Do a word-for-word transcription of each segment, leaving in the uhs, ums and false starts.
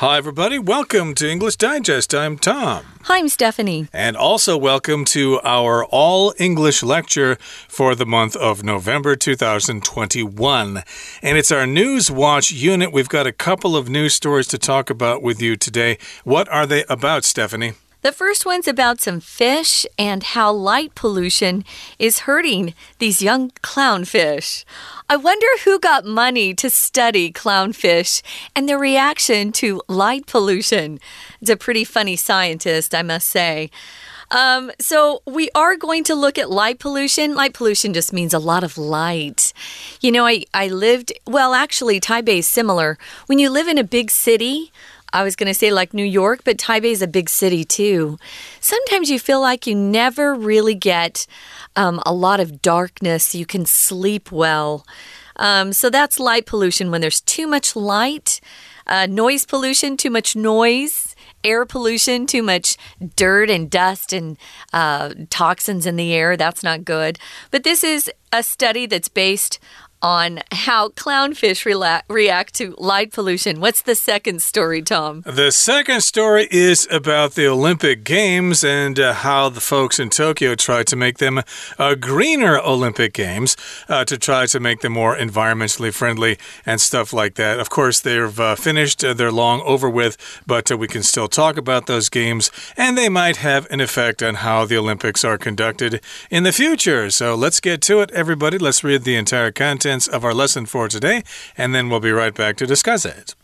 Hi, everybody. Welcome to English Digest. I'm Tom. Hi, I'm Stephanie. And also welcome to our all-English lecture for the month of November two thousand twenty-one. And it's our News Watch unit. We've got a couple of news stories to talk about with you today. What are they about, Stephanie? The first one's about some fish and how light pollution is hurting these young clownfish. I wonder who got money to study clownfish and their reaction to light pollution. It's a pretty funny scientist, I must say. Um, so we are going to look at light pollution. Light pollution just means a lot of light. You know, I, I lived, well, actually, Taipei is similar. When you live in a big city, I was going to say like New York, but Taipei is a big city too. Sometimes you feel like you never really get um, a lot of darkness. You can sleep well. Um, so that's light pollution when there's too much light. Uh, noise pollution, too much noise. Air pollution, too much dirt and dust and uh, toxins in the air. That's not good. But this is a study that's based on how clownfish rela- react to light pollution. What's the second story, Tom? The second story is about the Olympic Games and uh, how the folks in Tokyo tried to make them uh, greener Olympic Games uh, to try to make them more environmentally friendly and stuff like that. Of course, they've uh, finished. Uh, they're long over with, but uh, we can still talk about those games, and they might have an effect on how the Olympics are conducted in the future. So let's get to it, everybody. Let's read the entire content of our lesson for today, and then we'll be right back to discuss it.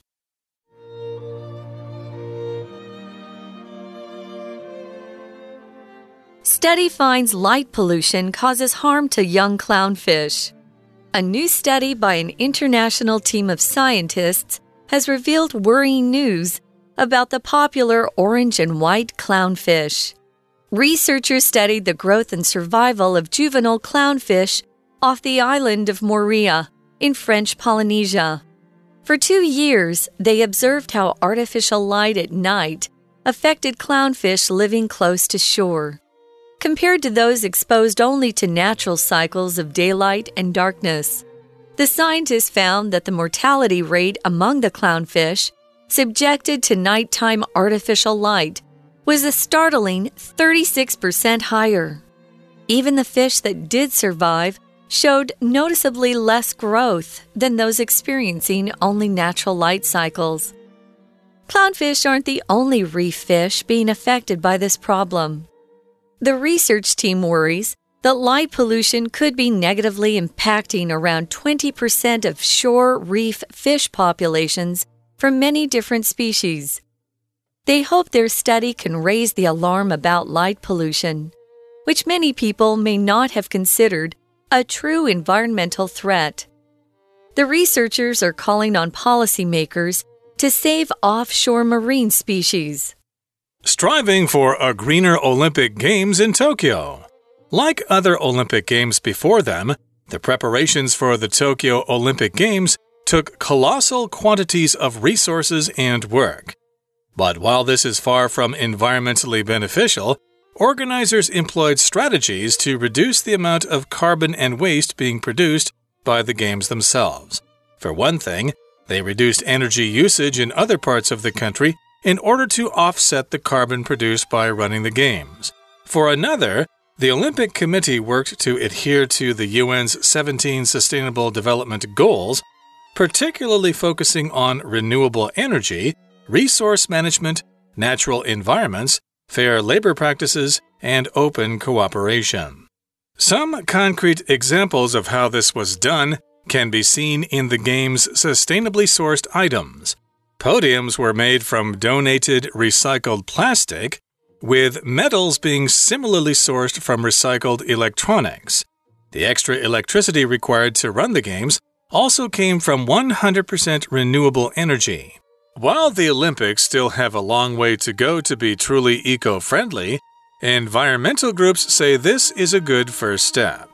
Study finds light pollution causes harm to young clownfish. A new study by an international team of scientists has revealed worrying news about the popular orange and white clownfish. Researchers studied the growth and survival of juvenile clownfish off the island of Moorea in French Polynesia. For two years, they observed how artificial light at night affected clownfish living close to shore, compared to those exposed only to natural cycles of daylight and darkness. The scientists found that the mortality rate among the clownfish subjected to nighttime artificial light was a startling thirty-six percent higher. Even the fish that did survive showed noticeably less growth than those experiencing only natural light cycles. Clownfish aren't the only reef fish being affected by this problem. The research team worries that light pollution could be negatively impacting around twenty percent of shore reef fish populations from many different species. They hope their study can raise the alarm about light pollution, which many people may not have considered a true environmental threat. The researchers are calling on policymakers to save offshore marine species. Striving for a greener Olympic Games in Tokyo. Like other Olympic Games before them, the preparations for the Tokyo Olympic Games took colossal quantities of resources and work. But while this is far from environmentally beneficial, organizers employed strategies to reduce the amount of carbon and waste being produced by the games themselves. For one thing, they reduced energy usage in other parts of the country in order to offset the carbon produced by running the games. For another, the Olympic Committee worked to adhere to the U N's seventeen Sustainable Development Goals, particularly focusing on renewable energy, resource management, natural environments, fair labor practices, and open cooperation. Some concrete examples of how this was done can be seen in the game's sustainably sourced items. Podiums were made from donated recycled plastic, with metals being similarly sourced from recycled electronics. The extra electricity required to run the games also came from one hundred percent renewable energy. While the Olympics still have a long way to go to be truly eco-friendly, environmental groups say this is a good first step.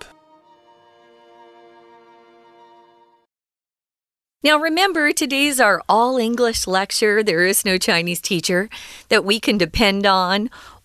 Now remember, today's our all-English lecture. There is no Chinese teacher that we can depend on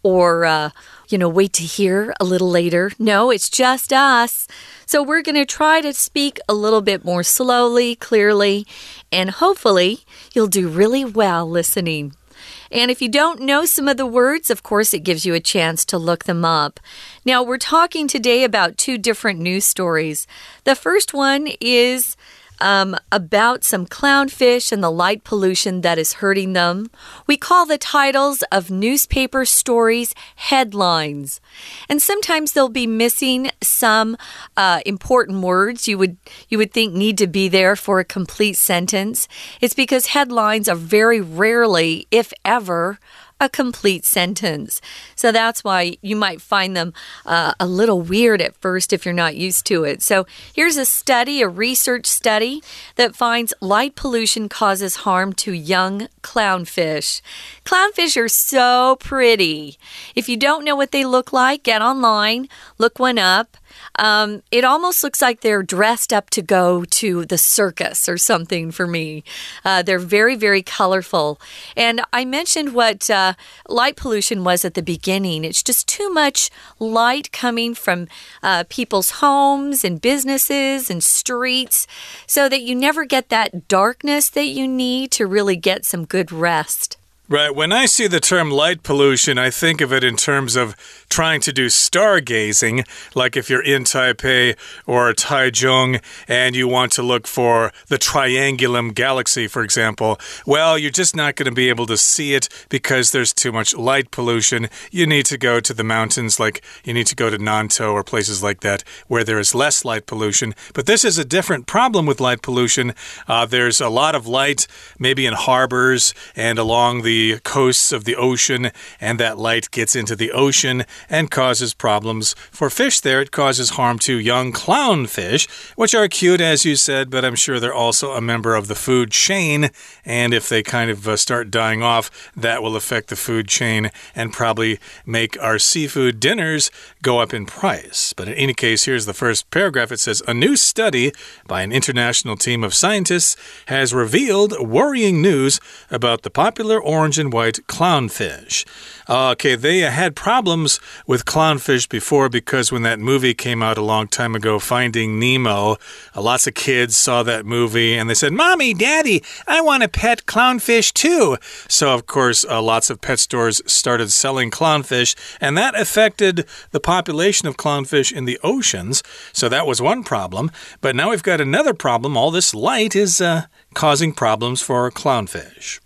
or, uh, you know, wait to hear a little later. No, it's just us. So we're going to try to speak a little bit more slowly, clearly, and hopefully you'll do really well listening. And if you don't know some of the words, of course, it gives you a chance to look them up. Now, we're talking today about two different news stories. The first one is um, about some clownfish and the light pollution that is hurting them. We call the titles of newspaper stories headlines. And sometimes they'll be missing some uh, important words you would, you would think need to be there for a complete sentence. It's because headlines are very rarely, if ever, a complete sentence. So that's why you might find them uh, a little weird at first if you're not used to it. So here's a study, a research study that finds light pollution causes harm to young clownfish. Clownfish are so pretty. If you don't know what they look like, get online, look one up. Um, it almost looks like they're dressed up to go to the circus or something for me. Uh, they're very, very colorful. And I mentioned what uh, light pollution was at the beginning. It's just too much light coming from uh, people's homes and businesses and streets so that you never get that darkness that you need to really get some good rest. Right. When I see the term light pollution, I think of it in terms of trying to do stargazing, like if you're in Taipei or Taichung and you want to look for the Triangulum Galaxy, for example. Well, you're just not going to be able to see it because there's too much light pollution. You need to go to the mountains, like you need to go to Nantou or places like that where there is less light pollution. But this is a different problem with light pollution. Uh, there's a lot of light, maybe in harbors and along the coasts of the ocean, and that light gets into the ocean and causes problems for fish there. It causes harm to young clownfish, which are cute, as you said, but I'm sure they're also a member of the food chain, and if they kind of uh, start dying off, that will affect the food chain and probably make our seafood dinners go up in price. But in any case, here's the first paragraph. It says, a new study by an international team of scientists has revealed worrying news about the popular orange and white clownfish. Okay, they had problems with clownfish before because when that movie came out a long time ago, Finding Nemo, uh, lots of kids saw that movie and they said, Mommy, Daddy, I want a pet clownfish too. So, of course, uh, lots of pet stores started selling clownfish, and that affected the population of clownfish in the oceans. So that was one problem. But now we've got another problem. All this light is uh, causing problems for clownfish.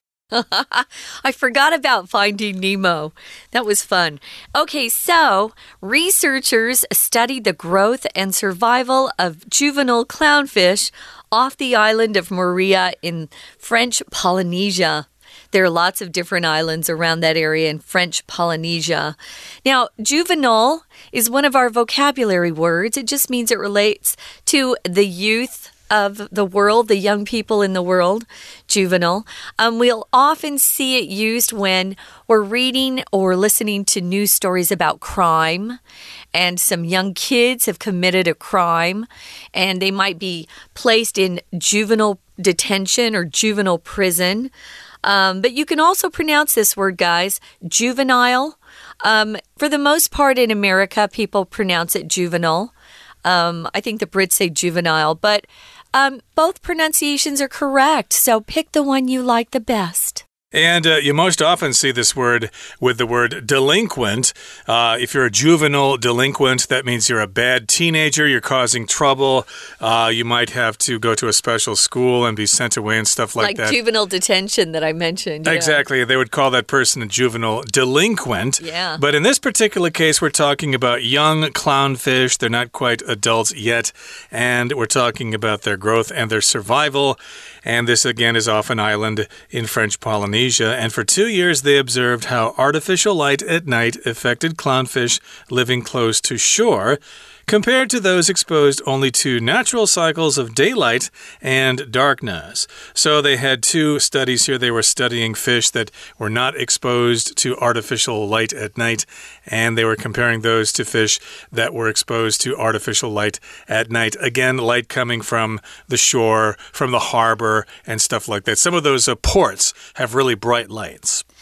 I forgot about Finding Nemo. That was fun. Okay, so researchers studied the growth and survival of juvenile clownfish off the island of Moorea in French Polynesia. There are lots of different islands around that area in French Polynesia. Now, juvenile is one of our vocabulary words. It just means it relates to the youth of the world, the young people in the world, juvenile. Um, we'll often see it used when we're reading or listening to news stories about crime, and some young kids have committed a crime, and they might be placed in juvenile detention or juvenile prison. Um, but you can also pronounce this word, guys, juvenile. Um, for the most part in America, people pronounce it juvenile. Um, I think the Brits say juvenile, but um, both pronunciations are correct, so pick the one you like the best. And uh, you most often see this word with the word delinquent. Uh, if you're a juvenile delinquent, that means you're a bad teenager, you're causing trouble. Uh, you might have to go to a special school and be sent away and stuff like, like that. Like juvenile detention that I mentioned. Yeah. Exactly. They would call that person a juvenile delinquent. Yeah. But in this particular case, we're talking about young clownfish. They're not quite adults yet. And we're talking about their growth and their survival. And this, again, is off an island in French Polynesia. And for two years, they observed how artificial light at night affected clownfish living close to shore, compared to those exposed only to natural cycles of daylight and darkness. So they had two studies here. They were studying fish that were not exposed to artificial light at night, and they were comparing those to fish that were exposed to artificial light at night. Again, light coming from the shore, from the harbor, and stuff like that. Some of those uh, ports have really bright lights.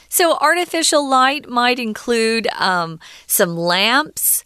So artificial light might include um, some lamps,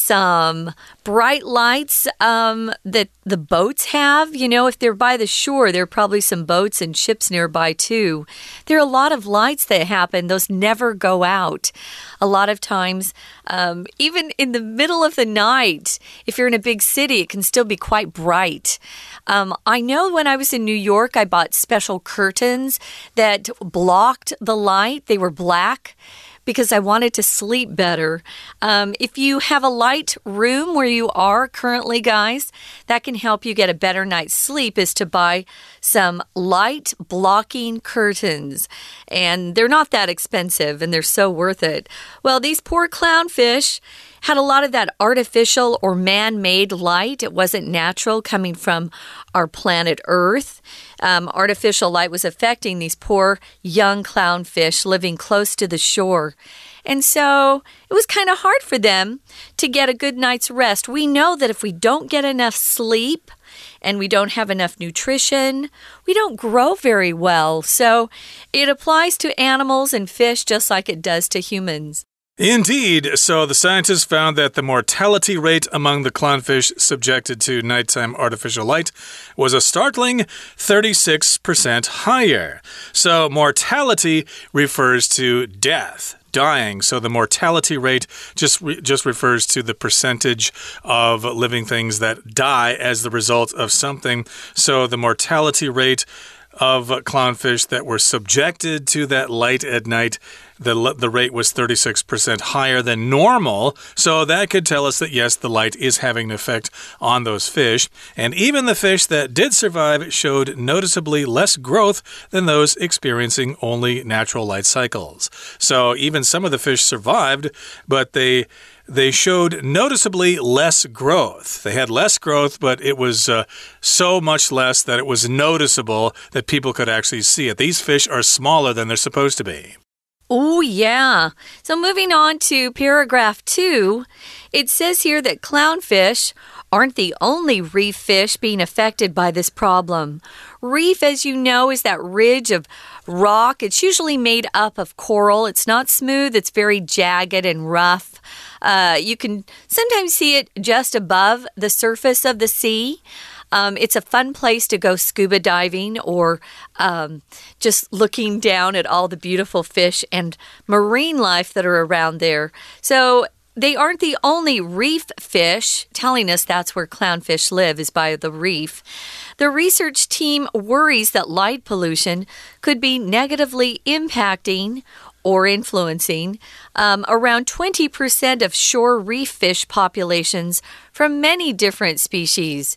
some bright lights um, that the boats have. You know, if they're by the shore, there are probably some boats and ships nearby too. There are a lot of lights that happen. Those never go out. A lot of times, um, even in the middle of the night, if you're in a big city, it can still be quite bright. Um, I know when I was in New York, I bought special curtains that blocked the light. They were black, because I wanted to sleep better. Um, if you have a light room where you are currently, guys, that can help you get a better night's sleep, is to buy some light blocking curtains. And they're not that expensive, and they're so worth it. Well, these poor clownfish had a lot of that artificial or man-made light. It wasn't natural, coming from our planet Earth. Um, artificial light was affecting these poor young clownfish living close to the shore. And so it was kind of hard for them to get a good night's rest. We know that if we don't get enough sleep and we don't have enough nutrition, we don't grow very well. So it applies to animals and fish just like it does to humans. Indeed. So the scientists found that the mortality rate among the clownfish subjected to nighttime artificial light was a startling thirty-six percent higher. So mortality refers to death. Dying. So the mortality rate just re just refers to the percentage of living things that die as the result of something. So the mortality rate of clownfish that were subjected to that light at night, the, the rate was thirty-six percent higher than normal. So that could tell us that, yes, the light is having an effect on those fish. And even the fish that did survive showed noticeably less growth than those experiencing only natural light cycles. So even some of the fish survived, but they... They showed noticeably less growth. They had less growth, but it was uh, so much less that it was noticeable that people could actually see it. These fish are smaller than they're supposed to be. Oh, yeah. So moving on to paragraph two, it says here that clownfish aren't the only reef fish being affected by this problem. Reef, as you know, is that ridge of rock. It's usually made up of coral. It's not smooth. It's very jagged and rough. Uh, you can sometimes see it just above the surface of the sea. Um, it's a fun place to go scuba diving or um, just looking down at all the beautiful fish and marine life that are around there. So they aren't the only reef fish. Telling us that's where clownfish live, is by the reef. The research team worries that light pollution could be negatively impacting or influencing um, around twenty percent of shore reef fish populations from many different species.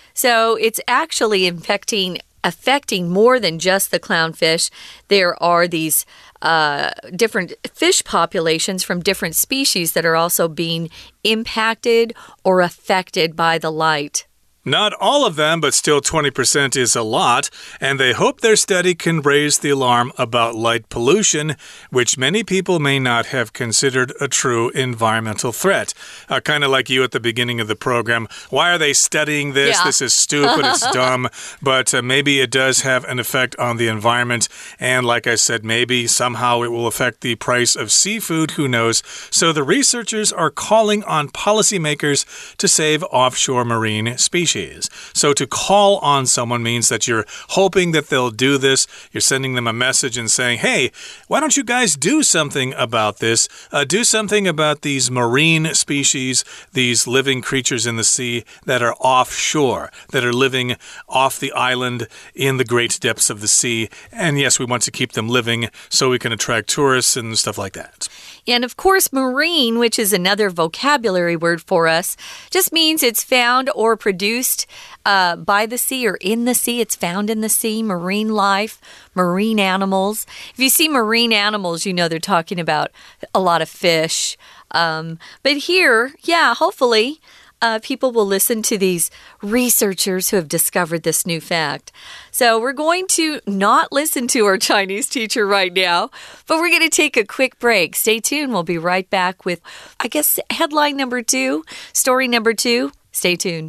So it's actually infecting, affecting more than just the clownfish. There are these uh, different fish populations from different species that are also being impacted or affected by the light. Not all of them, but still twenty percent is a lot, and they hope their study can raise the alarm about light pollution, which many people may not have considered a true environmental threat. Uh, kind of like you at the beginning of the program. Why are they studying this? Yeah. This is stupid, it's dumb, but uh, maybe it does have an effect on the environment, and like I said, maybe somehow it will affect the price of seafood, who knows? So the researchers are calling on policymakers to save offshore marine species. So to call on someone means that you're hoping that they'll do this. You're sending them a message and saying, hey, why don't you guys do something about this? Uh, do something about these marine species, these living creatures in the sea that are offshore, that are living off the island in the great depths of the sea. And yes, we want to keep them living so we can attract tourists and stuff like that. And of course, marine, which is another vocabulary word for us, just means it's found or produced uh, by the sea or in the sea. It's found in the sea, marine life, marine animals. If you see marine animals, you know they're talking about a lot of fish. Um, but here, yeah, hopefully Uh, people will listen to these researchers who have discovered this new fact. So we're going to not listen to our Chinese teacher right now, but we're going to take a quick break. Stay tuned. We'll be right back with, I guess, headline number two, story number two. Stay tuned.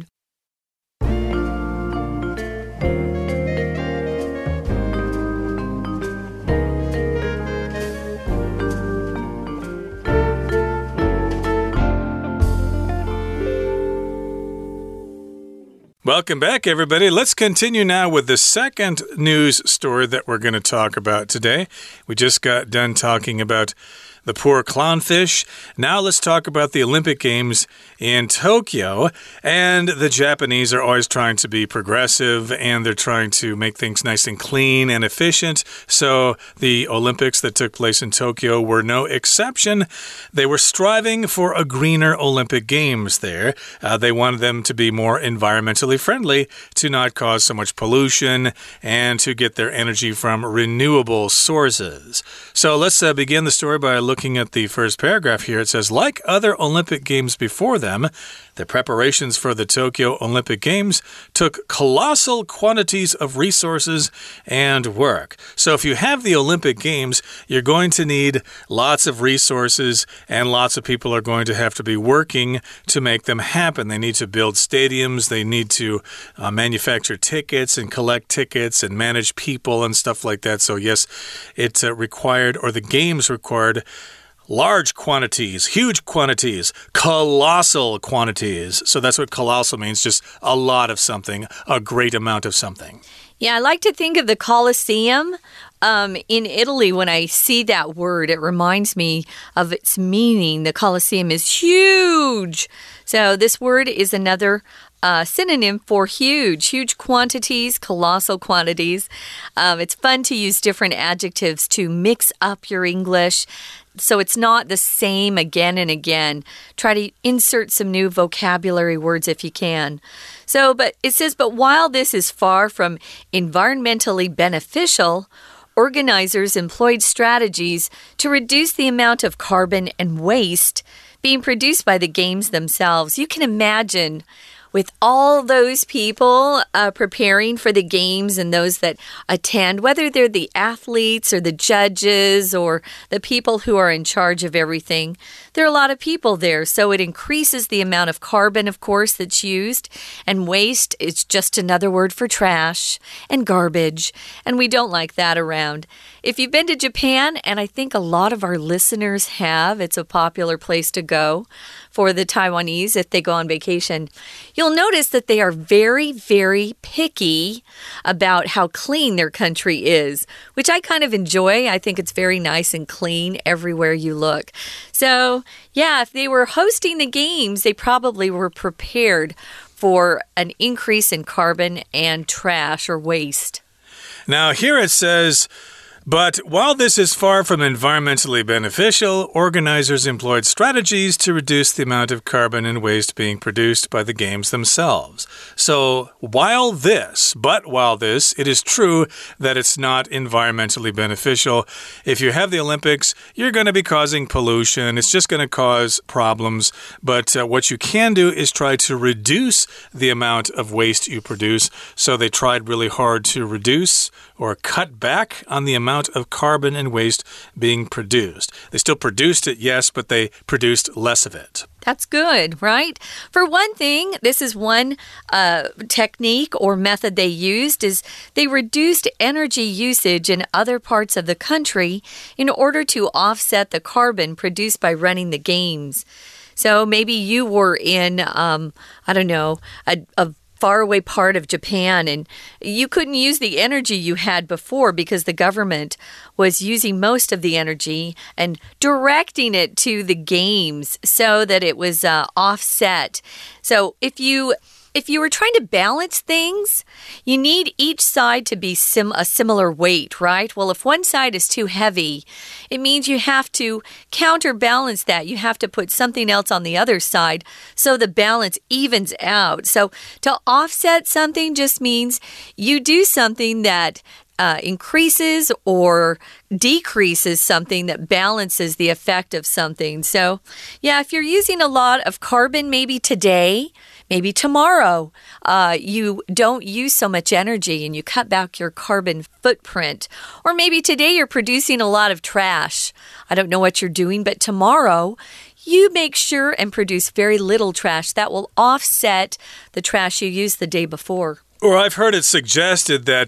Welcome back, everybody. Let's continue now with the second news story that we're going to talk about today. We just got done talking about the poor clownfish. Now let's talk about the Olympic Games in Tokyo. And the Japanese are always trying to be progressive, and they're trying to make things nice and clean and efficient. So the Olympics that took place in Tokyo were no exception. They were striving for a greener Olympic Games there. Uh, they wanted them to be more environmentally friendly, to not cause so much pollution, and to get their energy from renewable sources. So let's uh, begin the story by looking Looking at the first paragraph here. It says, like other Olympic Games before them, the preparations for the Tokyo Olympic Games took colossal quantities of resources and work. So if you have the Olympic Games, you're going to need lots of resources, and lots of people are going to have to be working to make them happen. They need to build stadiums, they need to uh, manufacture tickets and collect tickets and manage people and stuff like that. So yes, it uh, required, or the games required, large quantities, huge quantities, colossal quantities. So that's what colossal means, just a lot of something, a great amount of something. Yeah, I like to think of the Colosseum. Um, in Italy, when I see that word, it reminds me of its meaning. The Colosseum is huge. So this word is another uh, synonym for huge, huge quantities, colossal quantities. Um, it's fun to use different adjectives to mix up your English, so it's not the same again and again. Try to insert some new vocabulary words if you can. So, but it says, but while this is far from environmentally beneficial, organizers employed strategies to reduce the amount of carbon and waste being produced by the games themselves. You can imagine, with all those people uh, preparing for the games and those that attend, whether they're the athletes or the judges or the people who are in charge of everything, there are a lot of people there. So it increases the amount of carbon, of course, that's used. And waste is just another word for trash and garbage. And we don't like that around. If you've been to Japan, and I think a lot of our listeners have, it's a popular place to go for the Taiwanese if they go on vacation, you'll notice that they are very, very picky about how clean their country is, which I kind of enjoy. I think it's very nice and clean everywhere you look. So, yeah, if they were hosting the games, they probably were prepared for an increase in carbon and trash or waste. Now, here it says, but while this is far from environmentally beneficial, organizers employed strategies to reduce the amount of carbon and waste being produced by the games themselves. So while this, but while this, it is true that it's not environmentally beneficial. If you have the Olympics, you're going to be causing pollution. It's just going to cause problems. But uh, what you can do is try to reduce the amount of waste you produce. So they tried really hard to reduce or cut back on the amount of carbon and waste being produced. They still produced it, yes, but they produced less of it. That's good, right? For one thing, this is one uh, technique or method they used, is they reduced energy usage in other parts of the country in order to offset the carbon produced by running the games. So maybe you were in, um, I don't know, a, a faraway part of Japan, and you couldn't use the energy you had before because the government was using most of the energy and directing it to the games so that it was uh, offset. So if you If you were trying to balance things, you need each side to be sim a similar weight, right? Well, if one side is too heavy, it means you have to counterbalance that. You have to put something else on the other side so the balance evens out. So to offset something just means you do something that Uh, increases or decreases something that balances the effect of something. So, yeah, if you're using a lot of carbon, maybe today, maybe tomorrow, uh, you don't use so much energy and you cut back your carbon footprint. Or maybe today you're producing a lot of trash. I don't know what you're doing, but tomorrow you make sure and produce very little trash. That will offset the trash you used the day before. Or I've heard it suggested that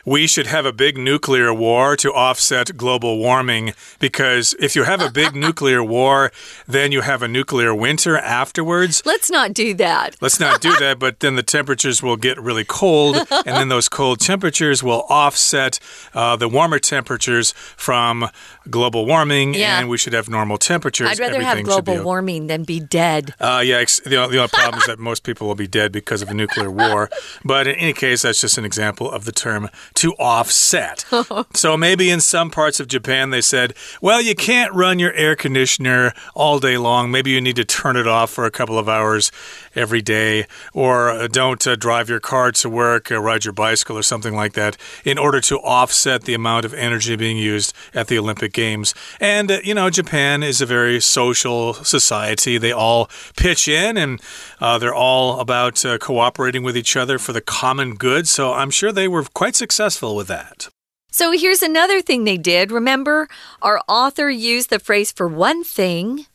we should have a big nuclear war to offset global warming, because if you have a big nuclear war, then you have a nuclear winter afterwards. Let's not do that. Let's not do that, but then the temperatures will get really cold, and then those cold temperatures will offset uh, the warmer temperatures from global warming, yeah. and we should have normal temperatures. I'd rather Everything have global be... warming than be dead. Uh, yeah, the, the only problem is that most people will be dead because of a nuclear war. But in any case, that's just an example of the term to offset. So maybe in some parts of Japan, they said, well, you can't run your air conditioner all day long. Maybe you need to turn it off for a couple of hours every day, or uh, don't uh, drive your car to work, uh, ride your bicycle or something like that, in order to offset the amount of energy being used at the Olympic Games. And, uh, you know, Japan is a very social society. They all pitch in, and uh, they're all about uh, cooperating with each other for the common good. So I'm sure they were quite successful with that. So here's another thing they did. Remember, our author used the phrase for one thing.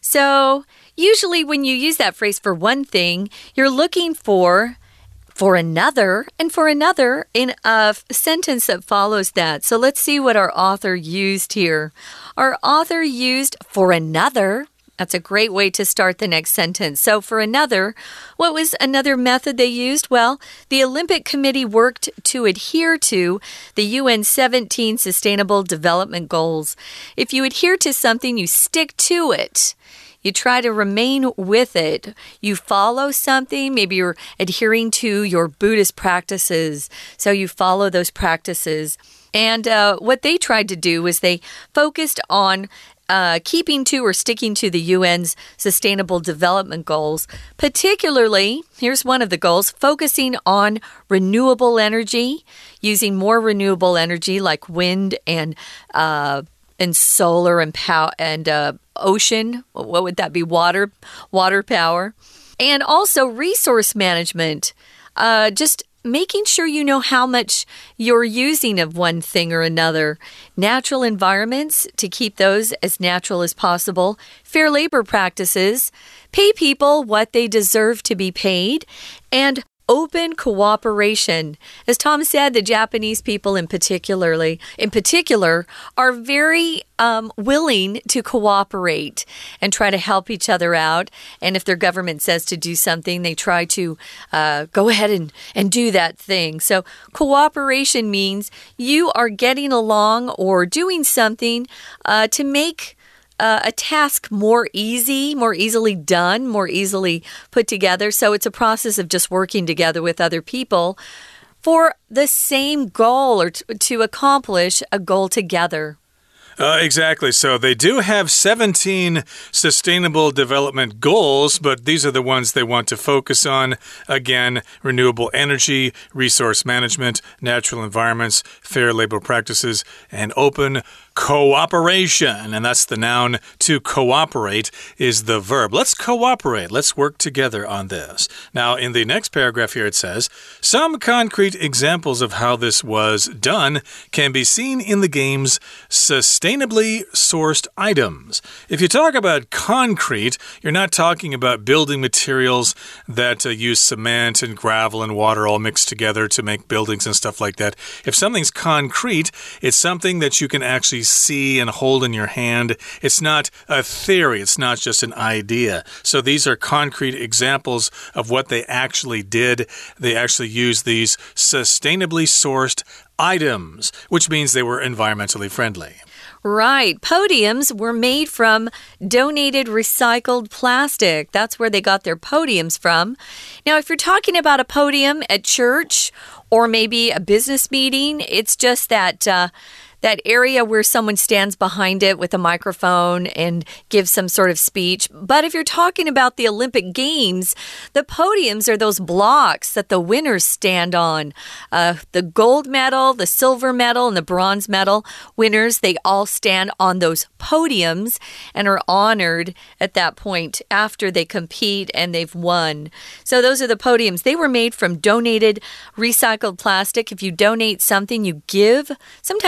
So usually when you use that phrase for one thing, you're looking for for another and for another in a sentence that follows that. So let's see what our author used here. Our author used for another. That's a great way to start the next sentence. So for another, what was another method they used? Well, the Olympic Committee worked to adhere to the U N seventeen Sustainable Development Goals. If you adhere to something, you stick to it. You try to remain with it. You follow something. Maybe you're adhering to your Buddhist practices, so you follow those practices. And uh, what they tried to do was they focused on Uh, keeping to or sticking to the U N's Sustainable Development Goals. Particularly, here's one of the goals, focusing on renewable energy, using more renewable energy like wind and uh, and solar and pow and uh, ocean. What would that be? Water, water power. And also resource management. Uh, just making sure you know how much you're using of one thing or another. Natural environments, to keep those as natural as possible. Fair labor practices, pay people what they deserve to be paid. And open cooperation. As Tom said, the Japanese people in particularly, in particular, are very um, willing to cooperate and try to help each other out. And if their government says to do something, they try to uh, go ahead and, and do that thing. So cooperation means you are getting along or doing something uh, to make Uh, a task more easy, more easily done, more easily put together. So it's a process of just working together with other people for the same goal or to, to accomplish a goal together. Uh, exactly. So they do have seventeen sustainable development goals, but these are the ones they want to focus on. Again, renewable energy, resource management, natural environments, fair labor practices, and open cooperation. And that's the noun. To cooperate is the verb. Let's cooperate. Let's work together on this. Now, in the next paragraph here, it says, some concrete examples of how this was done can be seen in the game's sustainably sourced items. If you talk about concrete, you're not talking about building materials that uh, use cement and gravel and water all mixed together to make buildings and stuff like that. If something's concrete, it's something that you can actually see and hold in your hand. It's not a theory. It's not just an idea. So these are concrete examples of what they actually did. They actually used these sustainably sourced items, which means they were environmentally friendly. Right. Podiums were made from donated recycled plastic. That's where they got their podiums from. Now, if you're talking about a podium at church or maybe a business meeting, it's just that uh, that area where someone stands behind it with a microphone and gives some sort of speech. But if you're talking about the Olympic Games, the podiums are those blocks that the winners stand on. Uh, the gold medal, the silver medal, and the bronze medal winners, they all stand on those podiums and are honored at that point after they compete and they've won. So those are the podiums. They were made from donated recycled plastic. If you donate something, you give, sometimes give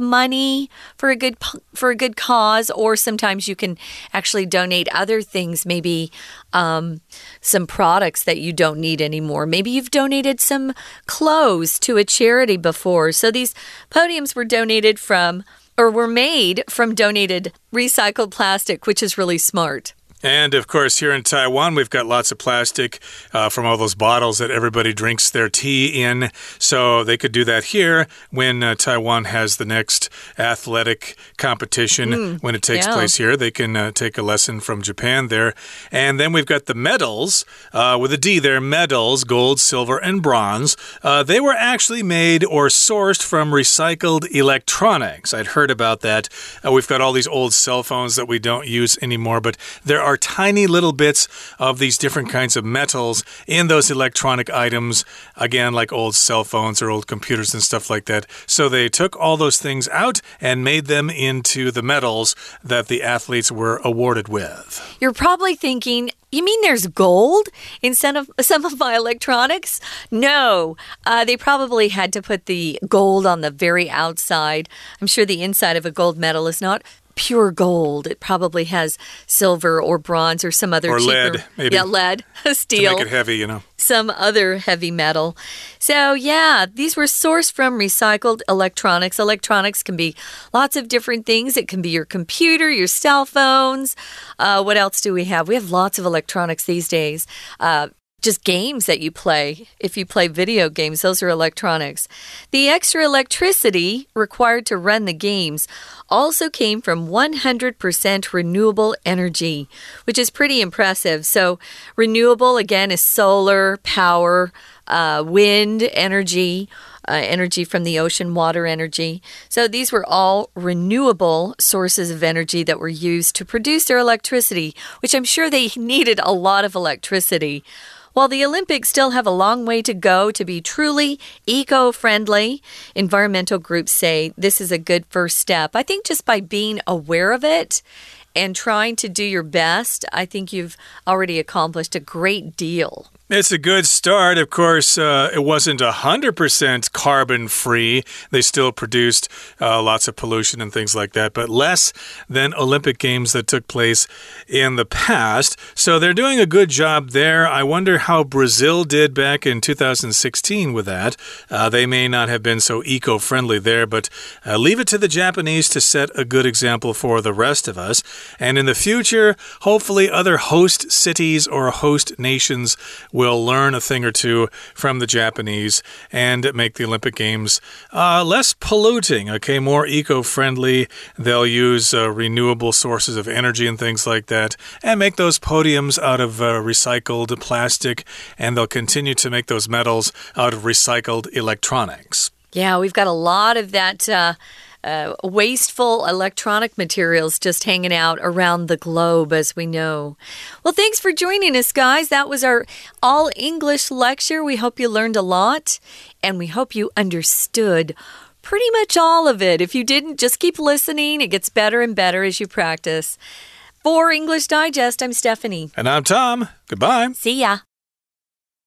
money for a good for a good cause, or sometimes you can actually donate other things, maybe um, some products that you don't need anymore. Maybe you've donated some clothes to a charity before. So these podiums were donated from, or were made from donated recycled plastic, which is really smart. And, of course, here in Taiwan, we've got lots of plastic uh, from all those bottles that everybody drinks their tea in. So they could do that here when uh, Taiwan has the next athletic competition. Mm, when it takes yeah. place here, they can uh, take a lesson from Japan there. And then we've got the medals, uh, with a D there, medals, gold, silver, and bronze. Uh, they were actually made or sourced from recycled electronics. I'd heard about that. Uh, we've got all these old cell phones that we don't use anymore, but there are tiny little bits of these different kinds of metals in those electronic items, again, like old cell phones or old computers and stuff like that. So they took all those things out and made them into the medals that the athletes were awarded with. You're probably thinking, you mean there's gold in some of, some of my electronics? No, uh, they probably had to put the gold on the very outside. I'm sure the inside of a gold medal is not pure gold. It probably has silver or bronze or some other or cheaper, lead, maybe. Yeah, lead, steel. To make it heavy, you know. Some other heavy metal. So, yeah, these were sourced from recycled electronics. Electronics can be lots of different things. It can be your computer, your cell phones. Uh, what else do we have? We have lots of electronics these days. Uh, Just games that you play. If you play video games, those are electronics. The extra electricity required to run the games also came from one hundred percent renewable energy, which is pretty impressive. So renewable, again, is solar power, uh, wind energy, uh, energy from the ocean, water energy. So these were all renewable sources of energy that were used to produce their electricity, which I'm sure they needed a lot of electricity. While the Olympics still have a long way to go to be truly eco-friendly, environmental groups say this is a good first step. I think just by being aware of it and trying to do your best, I think you've already accomplished a great deal. It's a good start. Of course, uh, it wasn't one hundred percent carbon-free. They still produced uh, lots of pollution and things like that, but less than Olympic Games that took place in the past. So they're doing a good job there. I wonder how Brazil did back in two thousand sixteen with that. Uh, they may not have been so eco-friendly there, but uh, leave it to the Japanese to set a good example for the rest of us. And in the future, hopefully other host cities or host nations will learn a thing or two from the Japanese and make the Olympic Games uh, less polluting, okay, more eco-friendly. They'll use uh, renewable sources of energy and things like that and make those podiums out of uh, recycled plastic, and they'll continue to make those medals out of recycled electronics. Yeah, we've got a lot of that uh Uh, wasteful electronic materials just hanging out around the globe, as we know. Well, thanks for joining us, guys. That was our all-English lecture. We hope you learned a lot, and we hope you understood pretty much all of it. If you didn't, just keep listening. It gets better and better as you practice. For English Digest, I'm Stephanie. And I'm Tom. Goodbye. See ya.